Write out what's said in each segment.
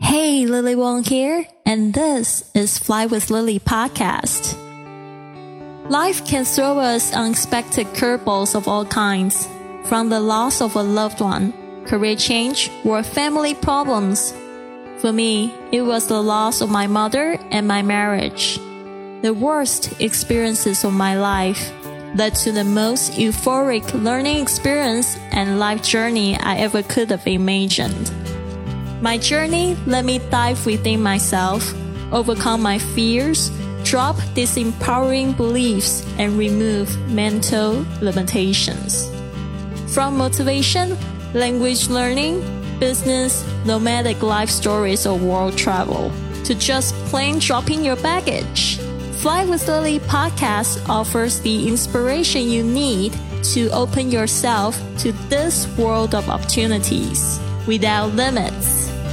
Hey, Lily Wong here, and this is Fly with Lily podcast. Life can throw us unexpected curveballs of all kinds, from the loss of a loved one, career change, or family problems. For me, it was the loss of my mother and my marriage. The worst experiences of my life led to the most euphoric learning experience and life journey I ever could have imagined. My journey let me dive within myself, overcome my fears, drop disempowering beliefs, and remove mental limitations. From motivation, language learning, business, nomadic life stories, or world travel, to just plain dropping your baggage, Fly with Lily podcast offers the inspiration you need to open yourself to this world of opportunities without limits.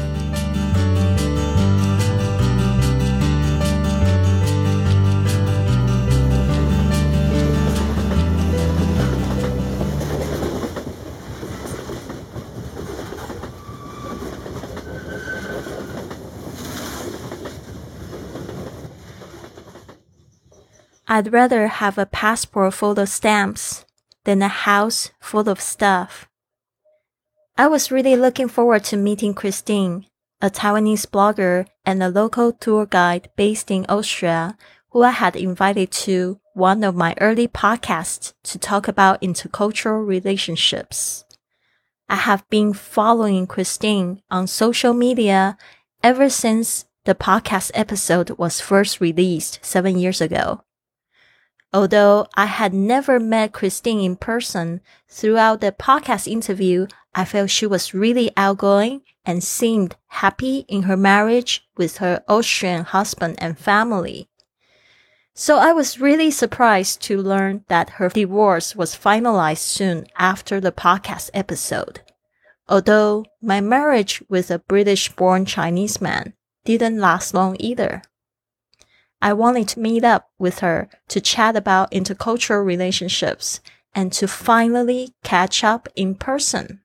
I'd rather have a passport full of stamps than a house full of stuff. I was really looking forward to meeting Christine, a Taiwanese blogger and a local tour guide based in Austria, who I had invited to one of my early podcasts to talk about intercultural relationships. I have been following Christine on social media ever since the podcast episode was first released 7 years ago. Although I had never met Christine in person, throughout the podcast interview, I felt she was really outgoing and seemed happy in her marriage with her Austrian husband and family. So I was really surprised to learn that her divorce was finalized soon after the podcast episode. Although my marriage with a British-born Chinese man didn't last long either. I wanted to meet up with her to chat about intercultural relationships and to finally catch up in person.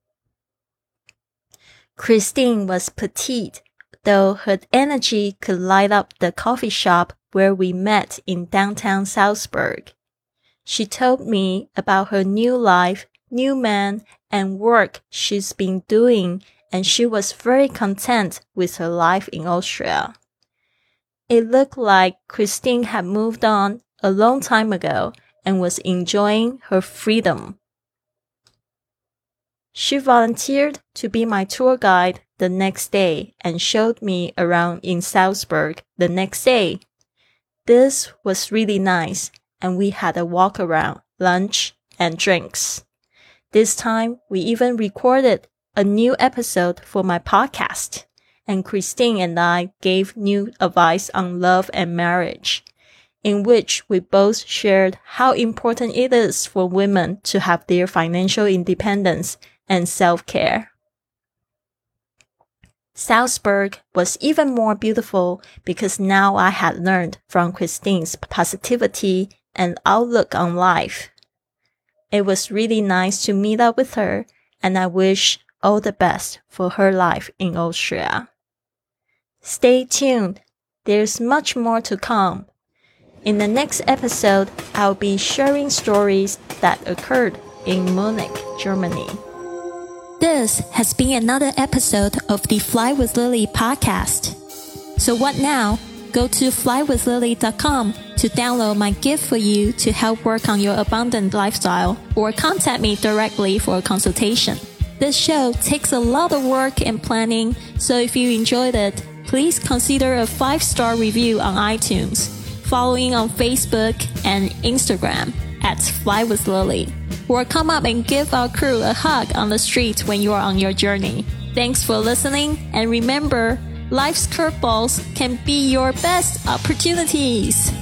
Christine was petite, though her energy could light up the coffee shop where we met in downtown Salzburg. She told me about her new life, new man, and work she's been doing, and she was very content with her life in Austria. It looked like Christine had moved on a long time ago and was enjoying her freedom. She volunteered to be my tour guide the next day and showed me around in Salzburg the next day. This was really nice, and we had a walk around, lunch, and drinks. This time, we even recorded a new episode for my podcast. And Christine and I gave new advice on love and marriage, in which we both shared how important it is for women to have their financial independence and self-care. Salzburg was even more beautiful because now I had learned from Christine's positivity and outlook on life. It was really nice to meet up with her, and I wish all the best for her life in Austria. Stay tuned. There's much more to come. In the next episode, I'll be sharing stories that occurred in Munich, Germany. This has been another episode of the Fly with Lily podcast. So what now? Go to flywithlily.com to download my gift for you to help work on your abundant lifestyle, or contact me directly for a consultation. This show takes a lot of work and planning, so if you enjoyed it, please consider a 5-star review on iTunes, following on Facebook and Instagram at Fly with Lily, or come up and give our crew a hug on the street when you are on your journey. Thanks for listening, and remember, life's curveballs can be your best opportunities.